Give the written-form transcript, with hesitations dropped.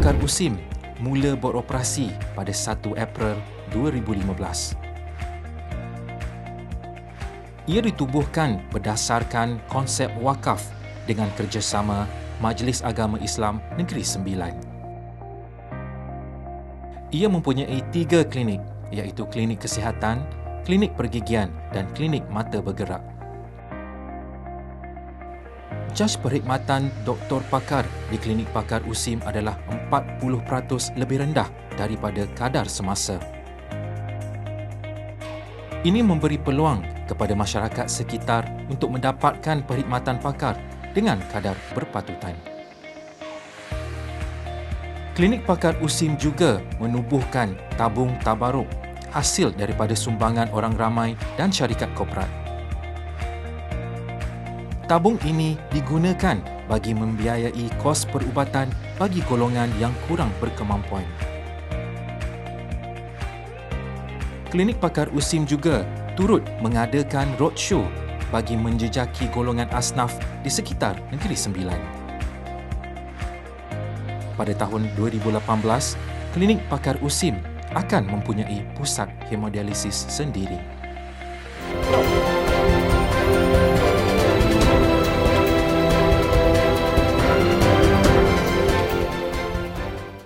Pakar USIM mula beroperasi pada 1 April 2015. Ia ditubuhkan berdasarkan konsep wakaf dengan kerjasama Majlis Agama Islam Negeri Sembilan. Ia mempunyai 3 klinik, iaitu klinik kesihatan, klinik pergigian dan klinik mata bergerak. Jaj perkhidmatan Doktor Pakar di klinik Pakar USIM adalah 40% lebih rendah daripada kadar semasa. Ini memberi peluang kepada masyarakat sekitar untuk mendapatkan perkhidmatan pakar dengan kadar berpatutan. Klinik Pakar USIM juga menubuhkan tabung tabaruk hasil daripada sumbangan orang ramai dan syarikat korporat. Tabung ini digunakan bagi membiayai kos perubatan bagi golongan yang kurang berkemampuan. Klinik Pakar USIM juga turut mengadakan roadshow bagi menjejaki golongan asnaf di sekitar Negeri Sembilan. Pada tahun 2018, Klinik Pakar USIM akan mempunyai pusat hemodialisis sendiri.